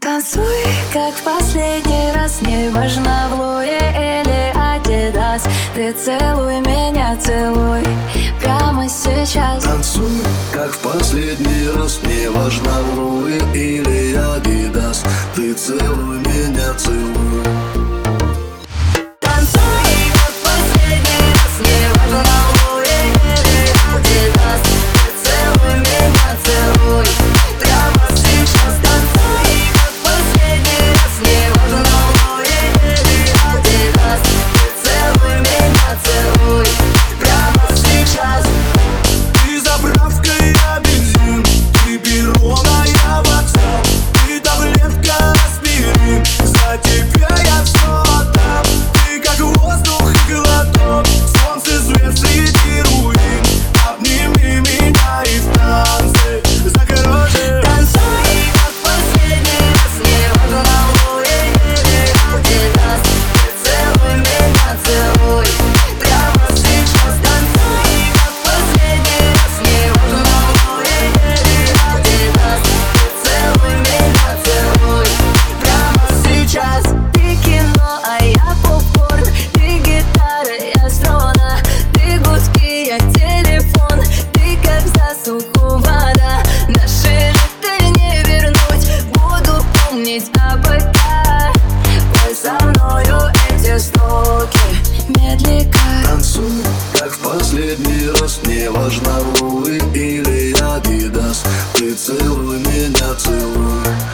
Танцуй, как в последний раз, не важно, в Луи или Адидас. Ты целуй меня, целуй прямо сейчас. Танцуй, как в последний раз, не важно, в Луи или Адидас. Ты целуй меня, целуй. Танцуй, как в последний раз, не важно, в Луи или Адидас. Ты целуй меня, целуй прямо сейчас. Танцуй, как в последний раз, не важно, в Луи или Адидас. Ты целуй меня, целуй прямо сейчас. Ты заправка, я бензин, ты перо, а я вокзал. Ты таблетка аспирин, за тебя я все отдам. Ты как воздух и глоток, солнце, свет среди руин. Обними меня и в танце закружи. Танцуй, как в последний раз, не важно, в Луи или Адидас. Ты целуй меня, целуй прямо сейчас. Танцуй, как в последний раз, не важно, в Луи или Адидас. Ты целуй меня, целуй прямо сейчас. Ты кино, а я попкорн. Ты гитара, я струна. Ты гудки, я телефон. Ты как засуху вода. Наши лета не вернуть. Буду помнить АБК. Пой со мною эти строки медленно. Танцуй, как в последний раз, не важно, в Луи или Адидас. Ты целуй меня, целуй.